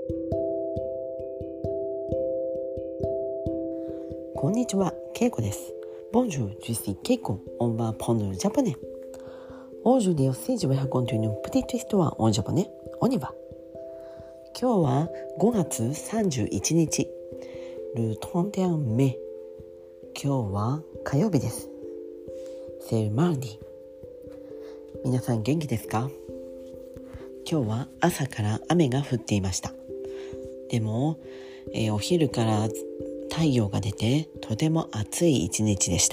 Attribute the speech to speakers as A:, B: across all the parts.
A: こんにちは、ケイコです。Bonjour, je suis Keiko. On va apprendre le japonais. Aujourd'hui aussi, je vais raconter une petite histoire en japonais. On y va. 今日は5月31日、le 31 mai。今日は火曜日です。C'est le mardi。皆さん元気ですか？今日は朝から雨が降っていました。でも、お昼から太陽が出てとても暑い一日でした。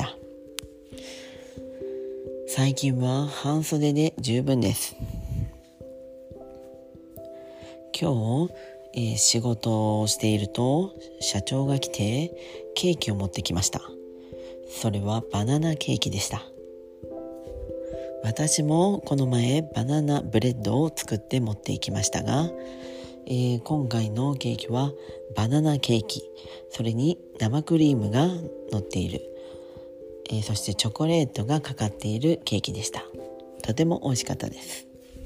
A: 最近は半袖で十分です。今日、仕事をしていると社長が来てケーキを持ってきました。それはバナナケーキでした。私もこの前バナナブレッドを作って持っていきましたが、今回のケーキはバナナケーキ、それに生クリームが乗っている、そしてチョコレートがかかっているケーキでした。とても美味しかったです。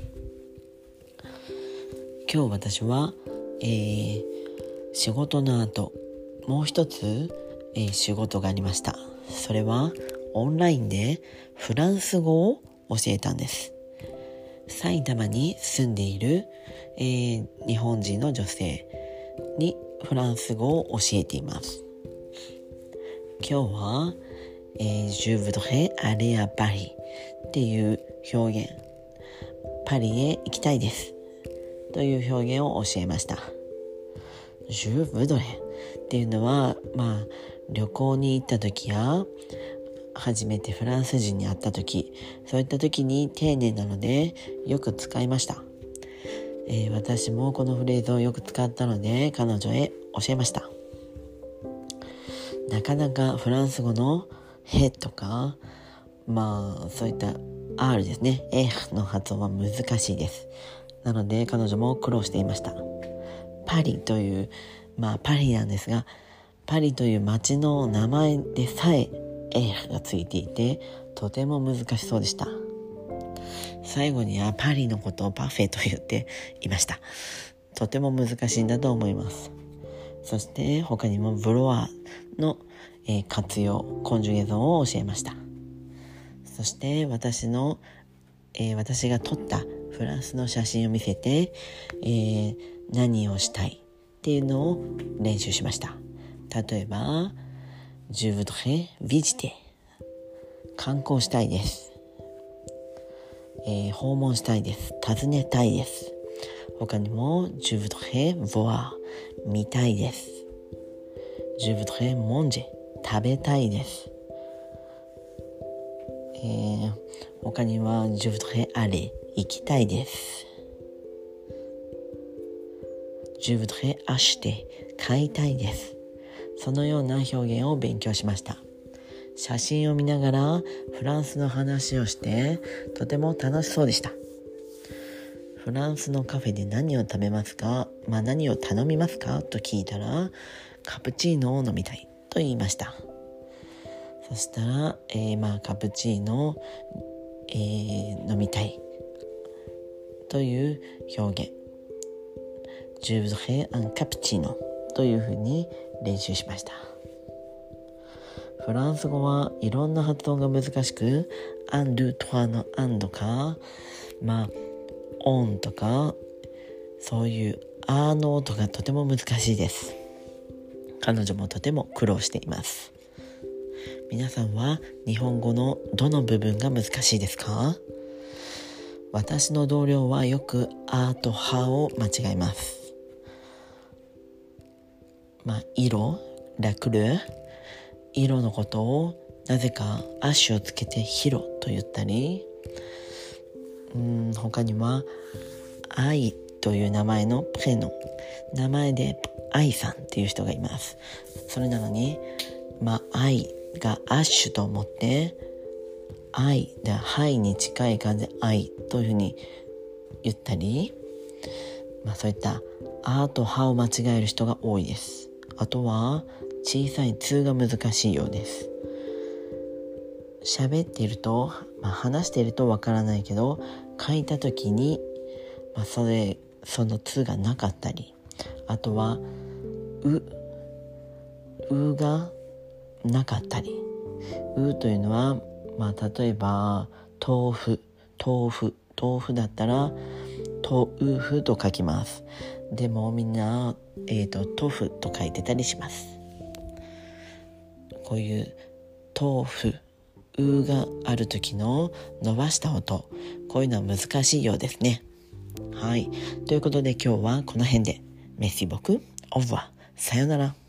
A: 今日私は、仕事の後もう一つ、仕事がありました。それはオンラインでフランス語を教えたんです。埼玉に住んでいる、日本人の女性にフランス語を教えています。今日は、Je voudrais aller à Paris っていう表現、パリへ行きたいですという表現を教えました。Je voudrais っていうのは、旅行に行った時や初めてフランス人に会った時、そういった時に丁寧なのでよく使いました。私もこのフレーズをよく使ったので彼女へ教えました。なかなかフランス語のへとか、そういった R ですね、の発音は難しいです。なので彼女も苦労していました。パリという、パリなんですが、パリという街の名前でさえがついていてとても難しそうでした。最後にはパリのことをパフェと言っていました。とても難しいんだと思います。そして他にもブロワーの、活用、コンジュゲーションを教えました。そして私が撮ったフランスの写真を見せて、何をしたいっていうのを練習しました。例えばJe voudrais visiter 観光したいです、訪問したいです、訪ねたいです。他にも Je voudrais voir 見たいです。Je voudrais manger 食べたいです。他には Je voudrais aller 行きたいです。Je voudrais acheter 買いたいです。そのような表現を勉強しました。写真を見ながらフランスの話をしてとても楽しそうでした。フランスのカフェで何を食べますか、何を頼みますかと聞いたらカプチーノを飲みたいと言いました。そしたら、カプチーノを、飲みたいという表現、Je voudrais un cappuccinoというふうに練習しました。フランス語はいろんな発音が難しく、アンドゥトワのアンとか、オンとか、そういうアの音がとても難しいです。彼女もとても苦労しています。皆さんは日本語のどの部分が難しいですか？私の同僚はよくあとはを間違えます。色、ラクル、色のことをなぜかアッシュをつけてヒロと言ったり、他には愛という名前のプレノ、名前で愛さんっていう人がいます。それなのに、愛がアッシュと思って愛でハイに近い感じで愛というふうに言ったり、そういったあとはを間違える人が多いです。あとは小さい通が難しいようです。喋っていると、話しているとわからないけど書いた時に、その通がなかったり、 あとはうがなかったり、うというのは、例えば豆腐だったら豆腐と書きます。でもみんな、豆腐と書いてたりします。こういう豆腐がある時の伸ばした音、こういうのは難しいようですね。はい、ということで今日はこの辺で。メッシボクオブワ、さよなら。